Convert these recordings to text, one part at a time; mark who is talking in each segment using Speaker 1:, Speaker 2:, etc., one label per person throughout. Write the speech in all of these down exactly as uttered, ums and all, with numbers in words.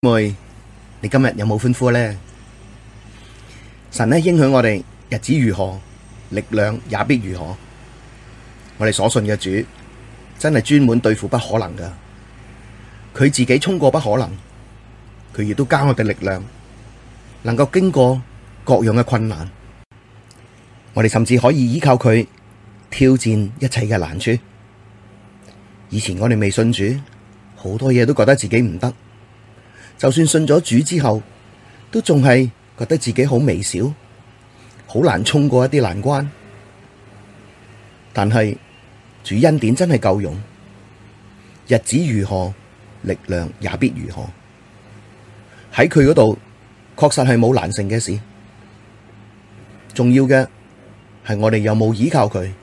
Speaker 1: 妹，你今日有冇歡呼呢？神呢應許我哋日子如何，力量也必如何。我哋所信嘅主真係專門對付不可能噶，佢自己衝過不可能，佢亦都加我哋力量，能夠經過各樣嘅困難。我哋甚至可以依靠佢挑戰一切嘅難處。以前我哋未信主，好多嘢都覺得自己唔得。就算信咗主之後，都仲係覺得自己好微小，好難衝過一啲難關。但係主恩典真係夠用，日子如何，力量也必如何。喺佢嗰度，確實係冇難成嘅事。重要嘅係我哋有冇依靠佢。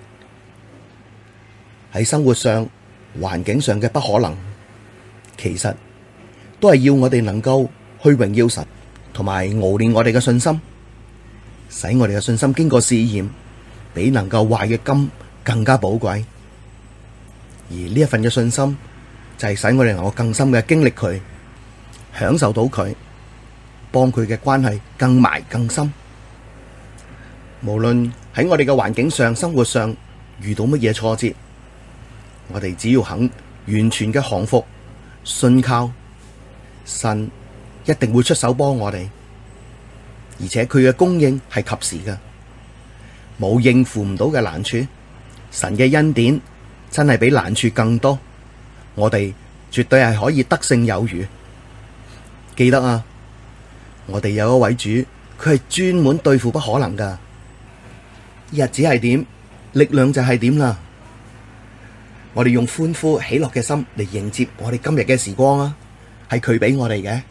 Speaker 1: 喺生活上、環境上嘅不可能，其實都係要我哋能夠去榮耀神，同埋熬練我哋嘅信心，使我哋嘅信心經過試驗，比能夠壞嘅金更加寶貴。而呢一份嘅信心，就係使我哋能夠更深嘅經歷佢，享受到佢，幫佢嘅關係更埋更深。無論喺我哋嘅環境上、生活上遇到乜嘢挫折，我哋只要肯完全嘅降服、信靠，神一定會出手幫我哋，而且佢嘅供應係及時嘅，冇應付唔到嘅難處。神嘅恩典真係比難處更多，我哋絕對係可以得勝有餘。記得啊，我哋有一位主，佢係專門對付不可能噶。日子係點，力量就係點啦。我哋用歡呼喜樂嘅心嚟迎接我哋今日嘅時光啊！係佢俾我哋嘅。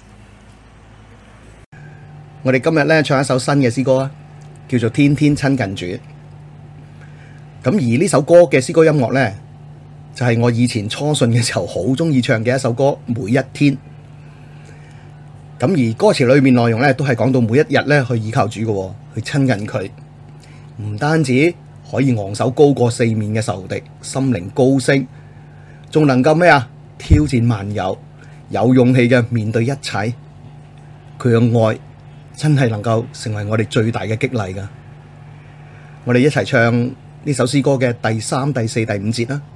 Speaker 1: 我哋今日咧唱一首新嘅詩歌啊，叫做《天天親近主》。咁而呢首歌嘅詩歌音樂咧，就係我以前初信嘅時候好中意唱嘅一首歌，每一天。咁而歌詞裏面內容咧，都係講到每一日咧去依靠主嘅，去親近佢。唔單止可以昂首高過四面嘅仇敵，心靈高升，仲能夠咩啊？挑戰萬有，有勇氣嘅面對一切。佢嘅愛真係能夠成為我哋最大嘅激勵噶。我哋一齊唱呢首詩歌嘅第三、第四、第五節啦。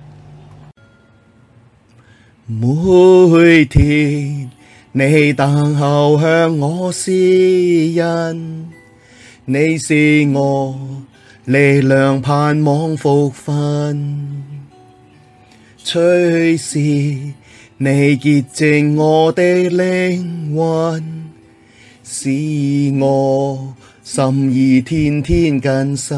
Speaker 1: 每天你等候向我施恩，你是我力量盼望福分，隨時你潔淨我的靈魂，使我心意天天更新。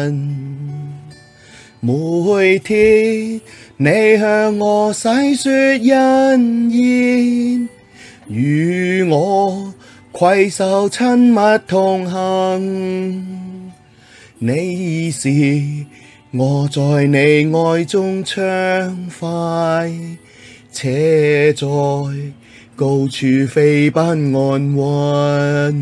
Speaker 1: 每天你向我細說恩言，與我攜手親密同行，你是我在你愛中暢快，且在高處飛奔安穩。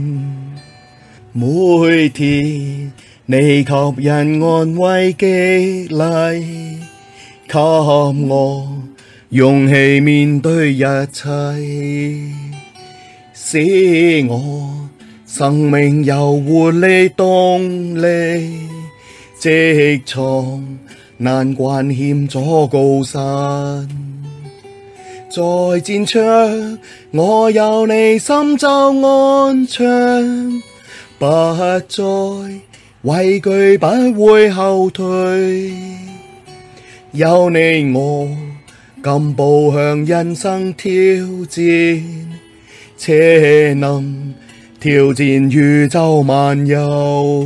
Speaker 1: 每天你給人安慰激勵，給我勇氣面對一切，使我生命有活力動力，直闖難關險阻高山。在戰場我有你心就安詳，不再畏懼不會後退，有你我敢步向人生挑戰，且能挑戰宇宙萬有。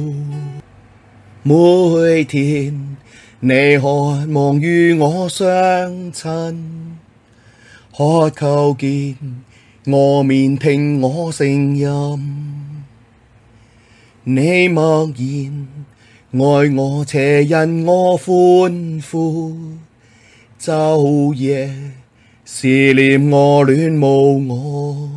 Speaker 1: 每天你渴望與我相親，渴求見我面聽我聲音，你默然愛我且因我歡呼，晝夜思念我戀慕我，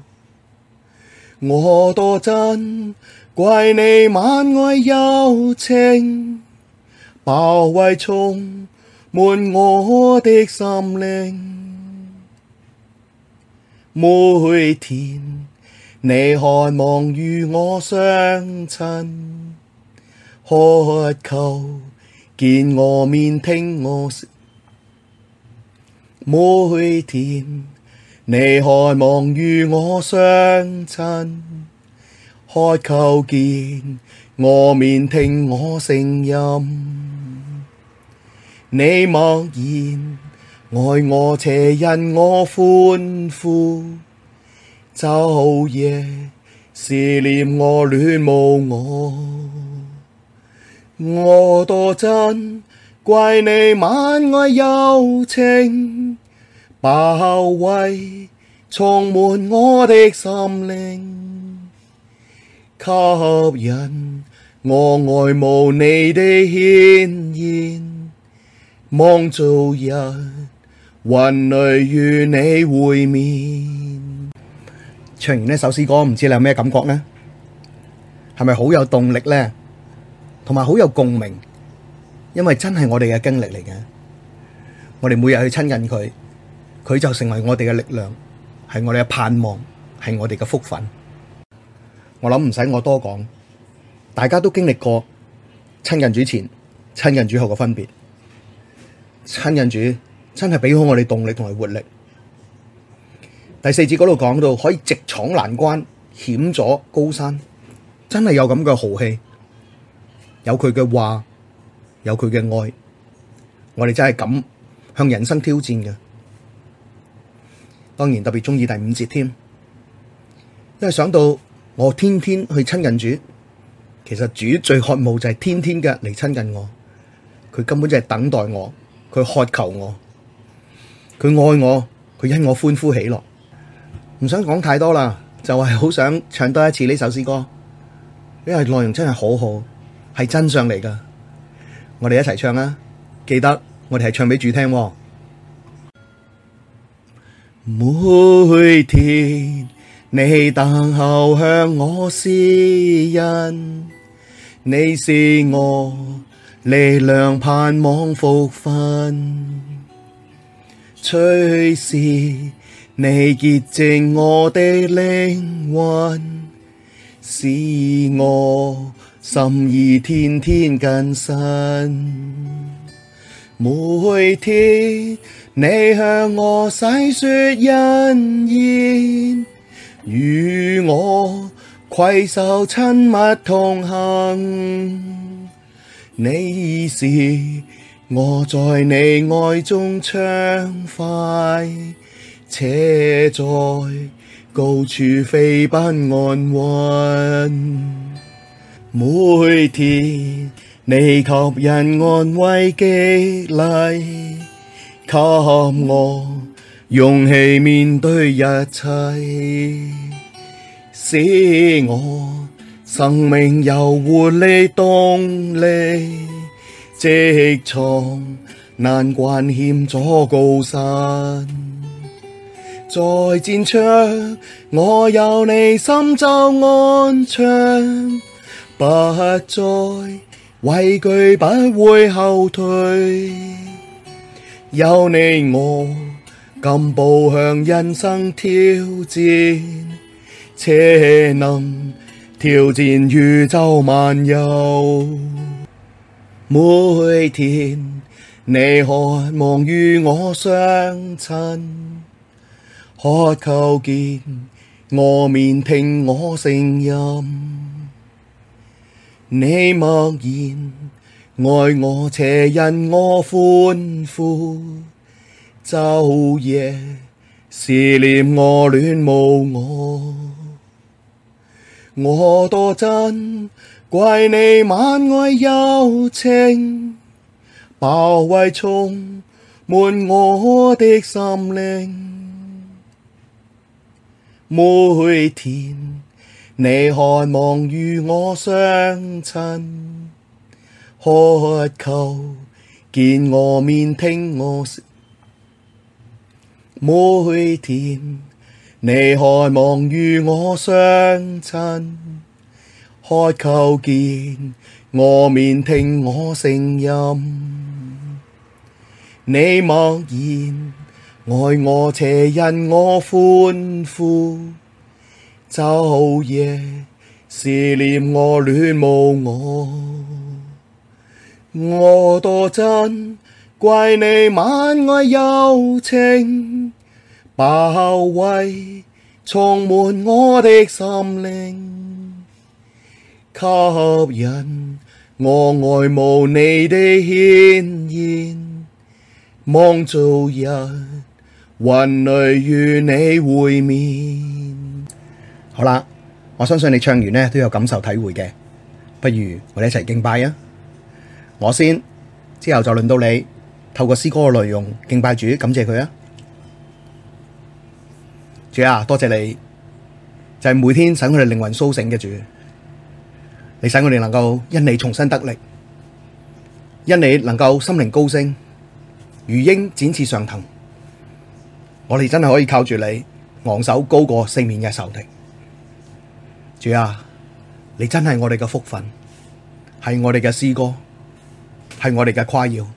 Speaker 1: 我多珍貴你萬愛柔情，包圍充滿我的心靈。 每天你渴望與我相親，渴求見我面聽我説。每天你渴望與我相親，渴求見我面聽我聲音。你默然愛我且因我歡呼，晝夜思念我戀慕我，我多珍貴你萬愛柔情，包圍充滿我的心靈，吸引我愛慕你的顯現，望早日雲裡與你會面。唱完呢首詩歌，唔知你有咩感覺呢？係咪好有動力呢？同埋好有共鳴？因為真係我哋嘅經歷嚟嘅，我哋每日去親近佢，佢就成為我哋嘅力量，係我哋嘅盼望，係我哋嘅福分。我諗唔使我多講，大家都經歷過親近主前、親近主後嘅分別。親近主真係俾好我哋動力同埋活力。第四節嗰度講到可以直闖難關、險阻高山，真係有咁嘅豪氣，有佢嘅話，有佢嘅愛，我哋真係敢向人生挑戰嘅。當然特別中意第五節添，因為想到我天天去親近主，其實主最渴慕就係天天嘅嚟親近我，佢根本就係等待我，佢渴求我，佢愛我，佢因我歡呼喜樂。唔想講太多啦，就係好想唱多一次呢首詩歌，因為內容真係好好，係真相嚟噶。我哋一齊唱啦，記得我哋係唱俾主聽喎。每天你等候向我施恩，你是我力量盼望福分，隨時你潔淨我的靈魂，使我心意天天更新。每天你向我細說恩言，與我攜手親密同行。你是我在你愛中暢快，且在高處飛奔安穩。每天你吸引安慰激勵，給我勇氣面對一切，使我生命有活力動力，直闖難關險阻高山。在戰場我有你心就安詳，不再畏懼，不會後退。有你我敢步向人生挑戰，且能挑戰宇宙萬有。每天你渴望與我相親，渴求見我面聽我聲音。你默然愛我且因我歡呼，晝夜思念我戀慕我，我多珍貴你萬愛柔情，包圍充滿我的心靈。每天你渴望與我相親，渴求見我面聽我説。每天你渴望與我相親，渴求見我面聽我聲音。你默然愛我且因我歡呼，晝夜思念我，戀慕我，我多珍貴你萬愛柔情，包圍充滿我的心靈，吸引我愛慕你的顯現，望早日雲裡與你會面。好啦，我相信你唱完呢都有感受體會嘅，不如我哋一齊敬拜啊！我先，之後就輪到你透過詩歌嘅內容敬拜主，感謝佢啊！主啊，多謝你，就係每天使我哋靈魂甦醒嘅主，你使我哋能夠因你重新得力，因你能夠心靈高升，如鷹展翅上騰。我哋真係可以靠住你，昂首高過四面嘅仇敵。主啊，你真係我哋嘅福分，係我哋嘅詩歌，係我哋嘅誇耀。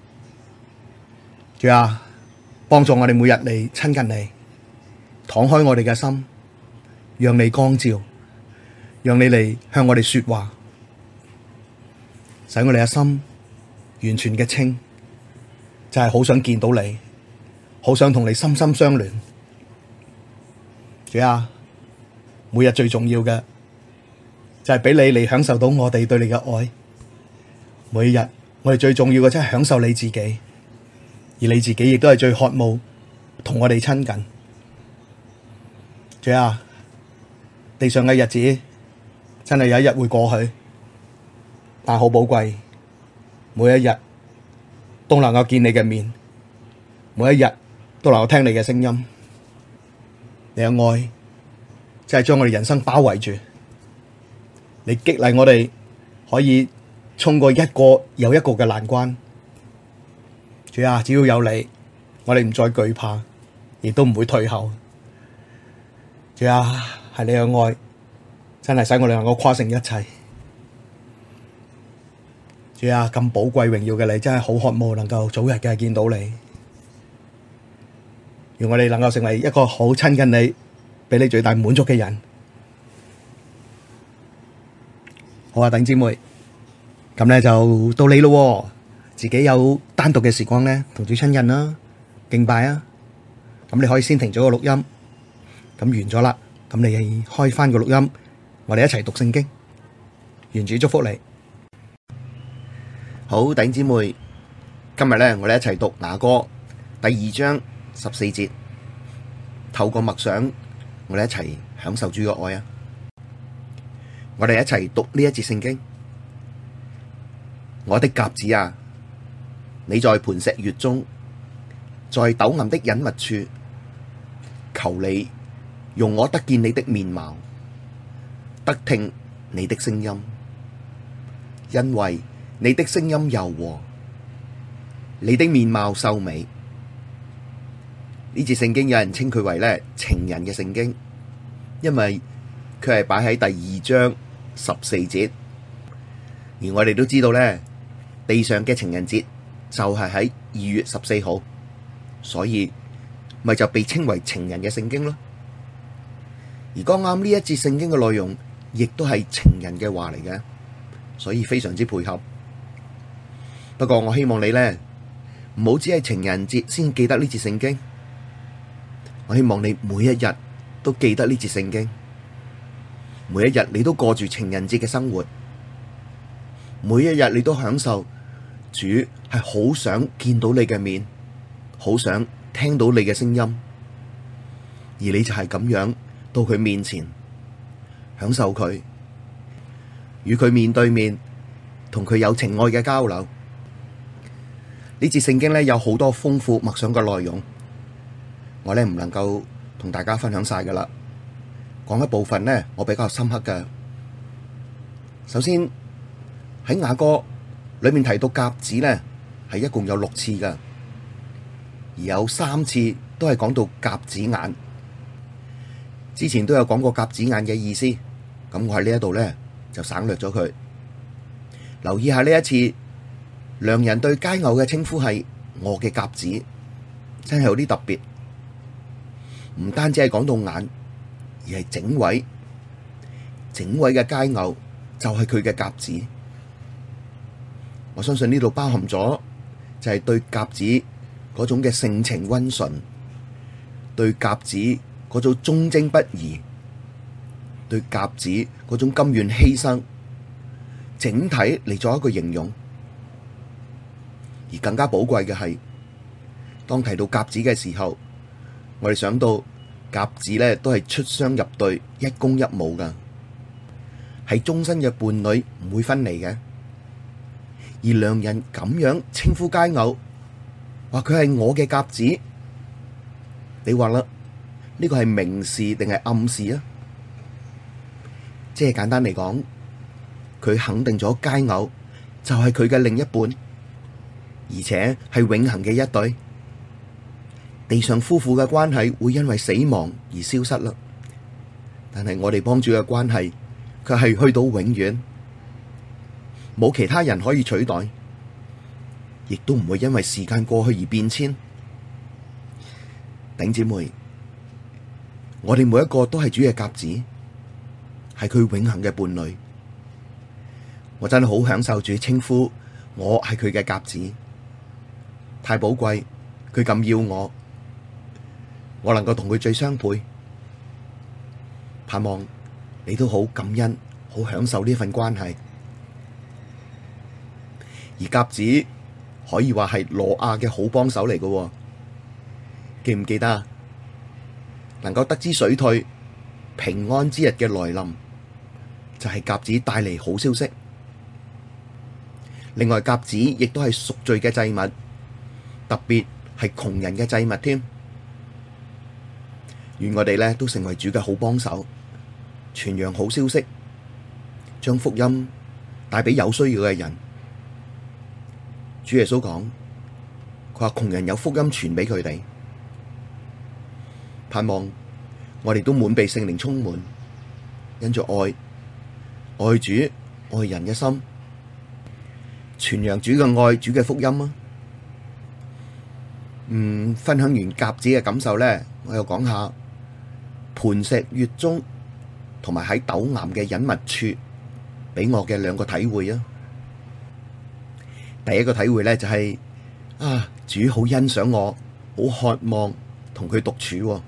Speaker 1: 主啊，幫助我哋每日嚟親近你，敞開我哋嘅心，讓你光照，讓你嚟向我哋說話，使我哋嘅心完全嘅清，就係好想見到你，好想同你心心相連。主啊，每日最重要嘅就係俾你嚟享受到我哋對你嘅愛。每日我哋最重要嘅真係享受你自己，而你自己亦都係最渴慕同我哋親近。主啊，地上嘅日子真係有一日會過去，但好寶貴，每一日都能夠見你嘅面，每一日都能夠聽你嘅聲音。你嘅愛真係將我哋人生包圍住，你激勵我哋可以衝過一個又一個嘅難關。主啊，只要有你，我哋唔再懼怕，亦都唔會退後。主啊，係你嘅愛真係使我哋能夠跨勝一切。主啊，咁寶貴榮耀嘅你，真係好渴望能夠早日嘅見到你。願我哋能夠成為一個好親近你，俾你最大滿足嘅人。好啊，弟兄姊妹，咁咧就到你咯，自己有單獨嘅時光咧，同主親近啦，敬拜啊。咁你可以先停咗個錄音，咁完咗啦，咁你開翻個錄音，我哋一齊讀聖經。願主祝福你。好，弟兄姊妹，今日咧我哋一齊讀雅歌第二章十四節，透過默想，我哋一齊享受主嘅愛啊！我哋一齊讀呢一節聖經。我的鴿子啊，你在磐石穴中，在陡暗的隱密處，求你容我得見你的面貌，得聽你的聲音，因為你的聲音柔和，你的面貌秀美。呢節聖經有人稱佢為咧情人嘅聖經，因為佢係擺喺第二章十四節，而我哋都知道咧，地上嘅情人節就係喺二月十四號，所以咪就被稱為情人嘅聖經咯。而剛啱呢一節聖經嘅內容，亦都係情人嘅話嚟嘅，所以非常之配合。不過我希望你咧唔好只係情人節先記得呢節聖經。我希望你每一日都記得呢節聖經，每一日你都過住情人節嘅生活，每一日你都享受主係好想見到你嘅面，好想聽到你嘅聲音，而你就係咁樣到佢面前享受佢，與佢面對面，同佢有情愛嘅交流。呢節聖經咧有好多豐富默想嘅內容。我咧唔能夠同大家分享晒噶啦，講一部分呢，我比較深刻嘅。首先喺雅歌裏面提到鴿子呢，係一共有六次噶，而有三次都係講到鴿子眼。之前都有講過鴿子眼嘅意思，咁我喺呢一度呢，就省略咗佢。留意下呢一次，良人對佳偶嘅稱呼係我嘅鴿子。 真係有啲特別，唔單止係講到眼，而係整位，整位嘅佳偶就係佢嘅鴿子。我相信呢度包含咗就係對鴿子嗰種嘅性情溫順，對鴿子嗰種忠貞不移，對鴿子嗰種甘願犧牲，整體嚟做一個形容。而更加寶貴嘅係，當提到鴿子嘅時候，我哋想到鴿子咧都係出雙入對，一公一母噶，係終身嘅伴侶，唔會分離嘅。而良人咁樣稱呼佳偶，話佢係我嘅鴿子，你話啦，呢個係明示定係暗示啊？即係簡單嚟講，佢肯定咗佳偶就係佢嘅另一半，而且係永恆嘅一對。地上夫婦嘅關係會因為死亡而消失啦，但係我哋幫主嘅關係卻係去到永遠，冇其他人可以取代，亦都唔會因為時間過去而變遷。弟兄姊妹，我哋每一個都係主嘅鴿子，係佢永恆嘅伴侶。我真係好享受主稱呼我係佢嘅鴿子，太寶貴，佢咁要我，我能夠同佢最相配。盼望你都好感恩，好享受呢份關係。而鴿子可以話係挪亞嘅好幫手嚟嘅，記唔記得啊？能夠得知水退平安之日嘅來臨，就係鴿子帶嚟好消息。另外，鴿子亦都係贖罪嘅祭物，特別係窮人嘅祭物添。願我哋咧都成為主嘅好幫手，傳揚好消息，將福音帶俾有需要嘅人。主耶穌講，佢話窮人有福音傳俾佢哋，盼望我哋都滿被聖靈充滿，因着愛愛主愛人嘅心，傳揚主嘅愛，主嘅福音啊！嗯，分享完鴿子嘅感受咧，我又講下磐石月中同埋喺陡岩嘅隱密處俾我嘅兩個體會啊！第一個體會咧就係、是、啊，主好欣賞我，好渴望同佢獨處，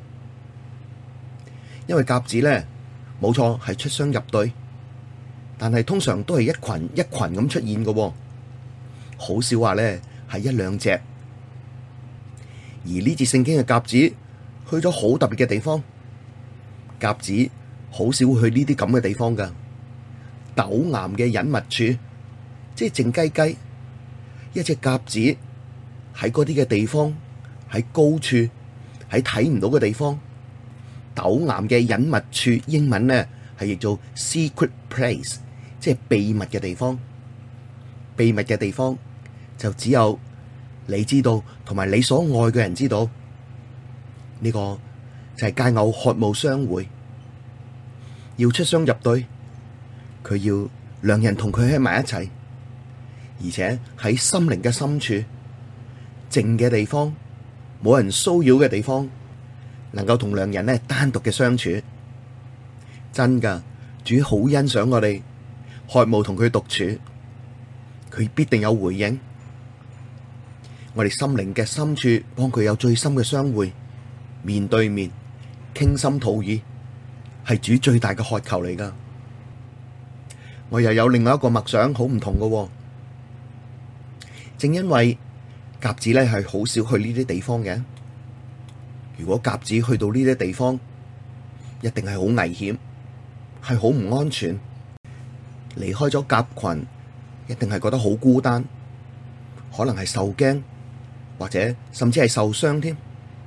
Speaker 1: 因為鴿子咧冇錯係出雙入對，但係通常都係一群一群咁出現嘅，好少話咧係一兩隻。而呢節聖經嘅鴿子去咗好特別嘅地方，鴿子好少會去呢啲咁嘅地方噶，陡岩嘅隱密處，即係靜雞雞，一隻鴿子喺嗰啲嘅地方，喺高處，喺睇唔到嘅地方，陡岩嘅隱密處，英文呢係譯做 secret place， 即係秘密嘅地方。秘密嘅地方就只有你知道，同埋你所愛嘅人知道。呢個就係佳偶渴慕相會，要出雙入對，佢要兩人同佢喺埋一齊，而且喺心靈嘅深處，靜嘅地方，冇人騷擾嘅地方，能夠同兩人呢單獨嘅相處。真噶，主好欣賞我哋，渴慕同佢獨處，佢必定有回應。我哋心靈嘅深處，幫佢有最深嘅相會，面對面傾心吐意，係主最大嘅渴求嚟噶。我又有另外一個默想，好唔同噶。正因為鴿子咧係好少去呢啲地方嘅，如果鴿子去到呢啲地方，一定係好危險，係好唔安全。離開咗鴿群，一定係覺得好孤單，可能係受驚，或者甚至係受傷添。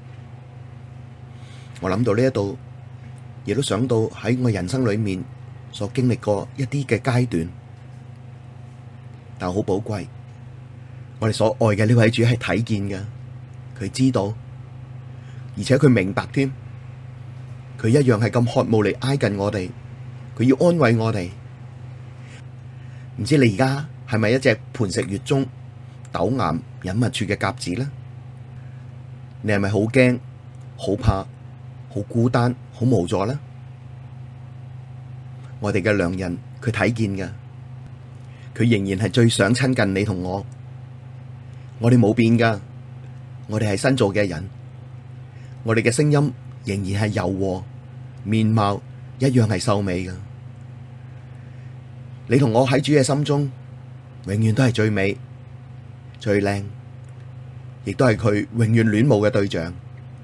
Speaker 1: 我諗到呢一度，亦都想到喺我人生裏面所經歷過一啲嘅階段，但好寶貴。我哋所愛嘅呢位主係睇見嘅，佢知道，而且佢明白添，佢一樣係咁渴慕嚟挨近我哋，佢要安慰我哋。唔知你而家係咪一隻磐石月中陡岩隱密處嘅鴿子呢？ 你係咪好驚、好怕、好孤單、好無助呢？我哋嘅良人佢睇見㗎，佢仍然係最想親近你同我。我哋冇變㗎，我哋係新造嘅人，我哋嘅聲音仍然係柔和，面貌一樣係秀美㗎。你同我喺主嘅心中，永遠都係最美、最靚，亦都係佢永遠戀慕嘅對象。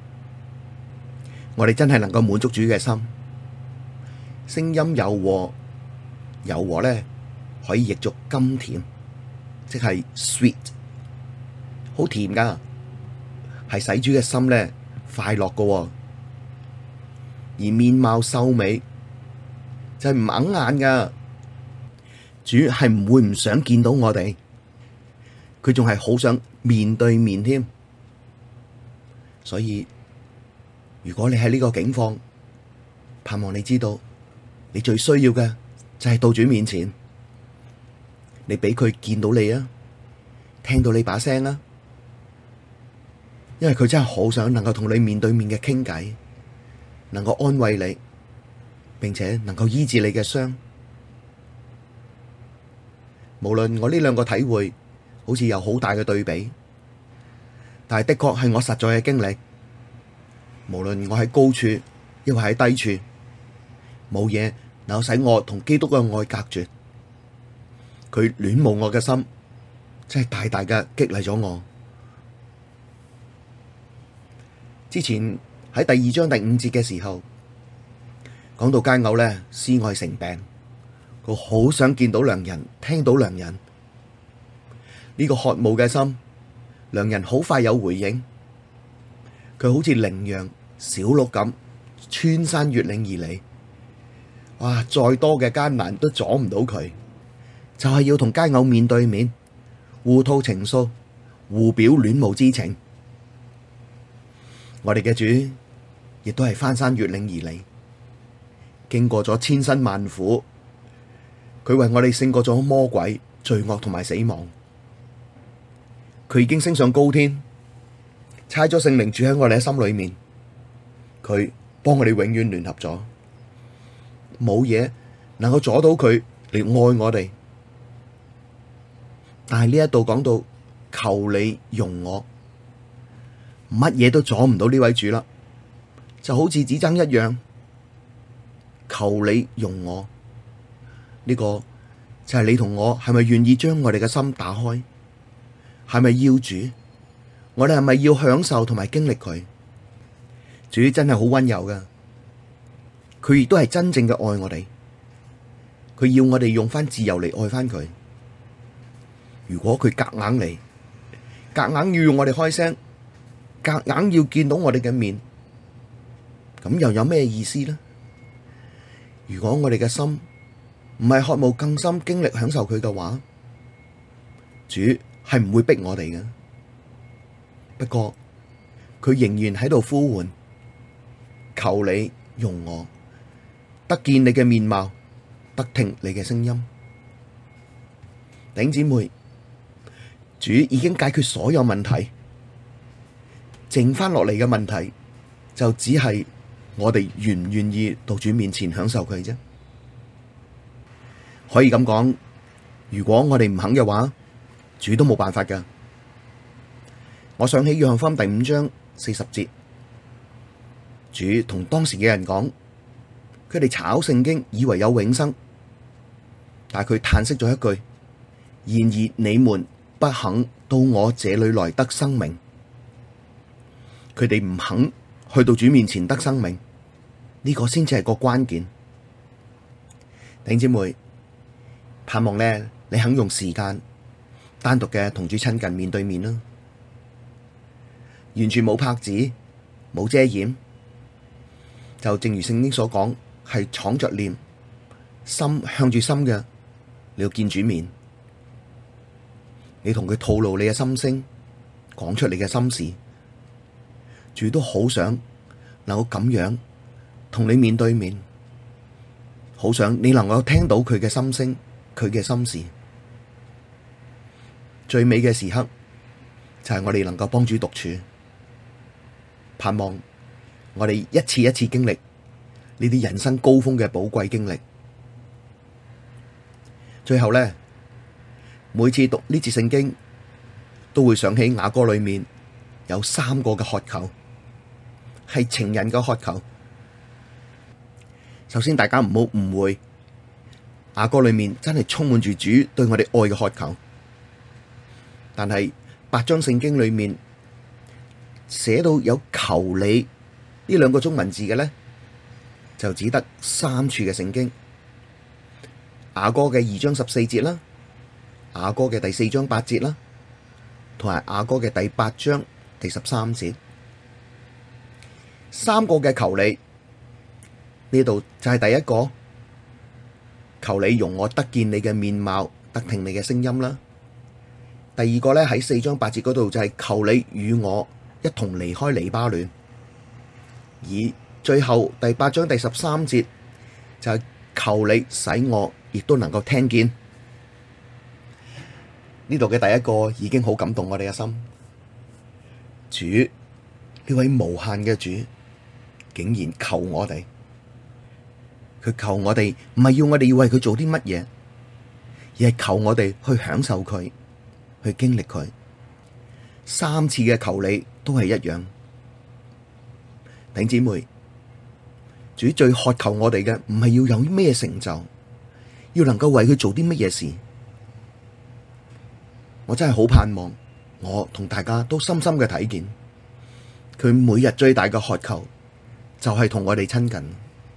Speaker 1: 我哋真係能夠滿足主嘅心，聲音柔和，柔和咧可以譯作甘甜，即係 sweet， 好甜噶，係使主嘅心咧快樂噶。而面貌秀美就係唔哽眼噶，主係唔會唔想見到我哋，佢仲係好想面對面添。所以如果你喺呢個境況，盼望你知道，你最需要嘅就係到主面前，你俾佢見到你啊，聽到你把聲啊，因為佢真係好想能夠同你面對面嘅傾偈，能夠安慰你，並且能夠醫治你嘅傷。無論我呢兩個體會好似有好大嘅對比，但係的確係我實在嘅經歷。無論我喺高處，抑或喺低處，冇嘢能夠使我同基督嘅愛隔絕。佢戀慕我嘅心，真係大大嘅激勵咗我。之前喺第二章第五節嘅時候，講到佳偶咧思愛成病，佢好想見到良人，聽到良人。呢個渴慕嘅心，良人好快有回應。佢好似羚羊、小鹿咁穿山越嶺而嚟，哇！再多嘅艱難都阻唔到佢，就係要同佳偶面對面，互吐情愫，互表戀慕之情。我哋嘅主亦都係翻山越嶺而嚟，經過咗千辛萬苦，佢為我哋勝過咗魔鬼、罪惡同埋死亡。佢已經升上高天，差咗聖靈住喺我哋嘅心裏面，佢幫我哋永遠聯合咗，冇嘢能夠阻到佢嚟愛我哋。但係呢一度講到求你容我，乜嘢都阻唔到呢位主啦，就好似只爭一樣，求你容我。呢個就係你同我係咪願意將我哋嘅心打開？係咪要主？我哋係咪要享受同埋經歷佢？主真係好溫柔噶，佢亦都係真正嘅愛我哋。佢要我哋用翻自由嚟愛翻佢。如果佢夾硬嚟，夾硬要用我哋開聲，夾硬要見到我哋嘅面，咁又有咩意思呢？如果我哋嘅心唔係渴慕更深經歷享受佢嘅話，主係唔會逼我哋嘅。不過佢仍然喺度呼喚，求你容我，得見你嘅面貌，得聽你嘅聲音。弟兄姊妹，主已經解決所有問題，剩翻落嚟嘅問題就只係我哋願唔願意到主面前享受佢啫。可以咁講，如果我哋唔肯嘅話，主都冇辦法噶。我想起約翰福音第五章四十節，主同當時嘅人講，佢哋查考聖經以為有永生，但係佢嘆息咗一句：然而你們不肯到我這裡來得生命。佢哋唔肯去到主面前得生命，呢個先至係個關鍵。弟兄姊妹，盼望呢，你肯用時間單獨嘅同主親近面對面啦。完全冇拍子，冇遮掩，就正如聖經所講，係敞着臉，心向住心嘅，你要見主面，你同佢吐露你嘅心聲，講出你嘅心事，主都好想能夠咁樣同你面對面，好想你能夠聽到佢嘅心聲，佢嘅心事。最美嘅時刻就係我哋能夠幫主獨處。 盼望我哋一次一次經歷呢啲人生高峰嘅寶貴經歷。最後呢，每次讀呢節聖經，都會想起雅歌裏面有三個嘅渴求，係情人嘅渴求。首先，大家唔好誤會，雅歌裏面真係充滿住主對我哋愛嘅渴求。但係八章聖經裏面寫到有求你呢兩個中文字嘅呢，就只得三處嘅聖經。雅歌嘅二章十四節啦，雅歌嘅第四章八節啦，同埋雅歌嘅第八章第十三節，三個嘅求你，呢度就係第一個，求你容我得見你嘅面貌，得聽你嘅聲音啦。第二個咧，喺四章八節嗰度就係求你與我一同離開黎巴嫩，而最後第八章第十三節就係求你使我亦都能夠聽見。呢度嘅第一個已經好感動我哋嘅心，主呢位無限嘅主竟然求我哋，佢求我哋唔係要我哋要為佢做啲乜嘢，而係求我哋去享受佢，去經歷佢。三次嘅求你都係一樣。弟兄姊妹，主最渴求我哋嘅唔係要有咩成就，要能夠為佢做啲乜嘢事。我真係好盼望我同大家都深深嘅睇見，佢每日最大嘅渴求就係同我哋親近。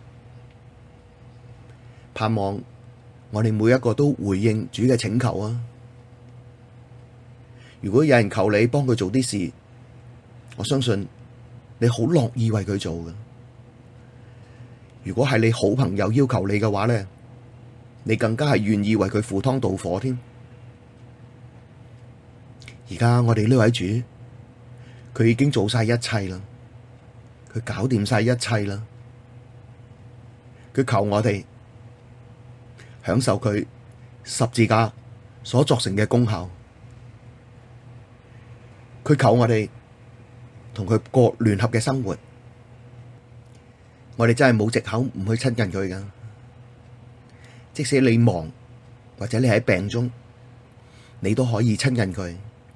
Speaker 1: 盼望我哋每一個都回應主嘅請求啊！如果有人求你幫佢做啲事，我相信你好樂意為佢做嘅。如果係你好朋友要求你嘅話咧，你更加係願意為佢赴湯蹈火添。而家我哋呢位主，佢已經做晒一切啦，佢搞掂晒一切啦，佢求我哋享受佢十字架所作成嘅功效，佢求我哋同佢過聯合嘅生活。我哋真係冇藉口唔去親近佢噶，即使你忙或者你喺病中，你都可以親近佢。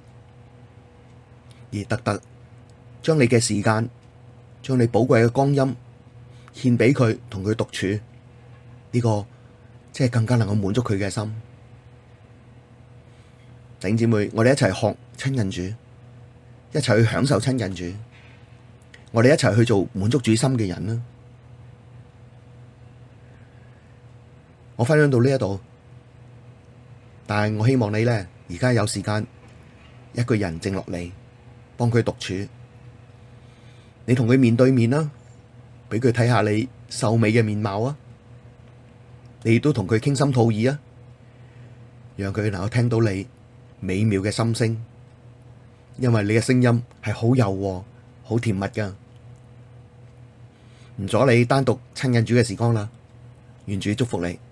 Speaker 1: 而特特將你嘅時間，將你寶貴嘅光陰獻俾佢，同佢獨處，呢、這個即係更加能夠滿足佢嘅心。弟兄姊妹，我哋一齊學親近主，一齊去享受親近主，我哋一齊去做滿足主心嘅人啦。我分享到呢一度，但係我希望你咧，而家有時間一個人靜落嚟，幫佢獨處，你同佢面對面啦，俾佢睇下你秀美嘅面貌啊！你亦都同佢傾心吐意啊，讓佢能夠聽到你美妙嘅心聲，因為你嘅聲音係好柔和、好甜蜜噶。唔阻你單獨親近主嘅時光啦，願主祝福你。